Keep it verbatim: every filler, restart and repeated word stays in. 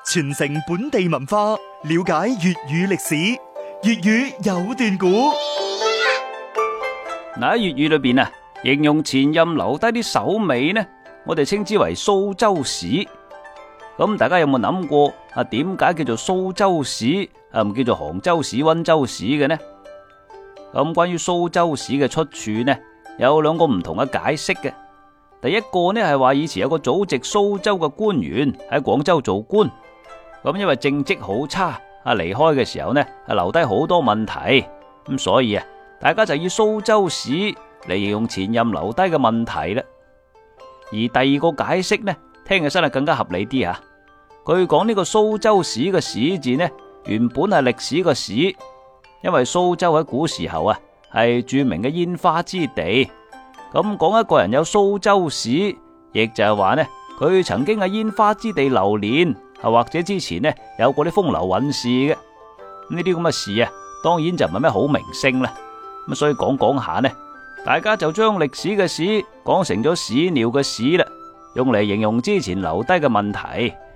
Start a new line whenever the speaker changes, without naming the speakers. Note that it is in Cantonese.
傳承本地文化，了解粵語歷史。粵語有段古。
嗱，喺粵語裏邊啊，形容前任留低啲手尾呢，我哋稱之為蘇州屎。咁大家有冇諗過啊？點解叫做蘇州屎啊，唔叫做杭州屎、溫州屎嘅呢？咁關於蘇州屎嘅出處呢，有兩個唔同嘅解釋嘅。第一個呢係話以前有個祖籍蘇州嘅官員喺廣州做官，咁因為政績好差，啊離開嘅時候呢，係留低好多問題，咁所以啊，大家就以蘇州屎嚟形容前任留低嘅問題啦。而第二個解釋呢，聽起身係更加合理啲吓。據講呢個蘇州屎嘅屎字呢，原本係歷史嘅史，因為蘇州喺古時候啊係著名嘅煙花之地。咁講一個人有蘇州屎，亦就係話呢，佢曾經喺煙花之地流連，啊或者之前呢有過啲風流韻事嘅。呢啲咁嘅事啊，當然就唔係咩好名聲啦。咁所以講講下呢，大家就將歷史嘅史講成咗屎尿嘅屎啦，用嚟形容之前留低嘅問題。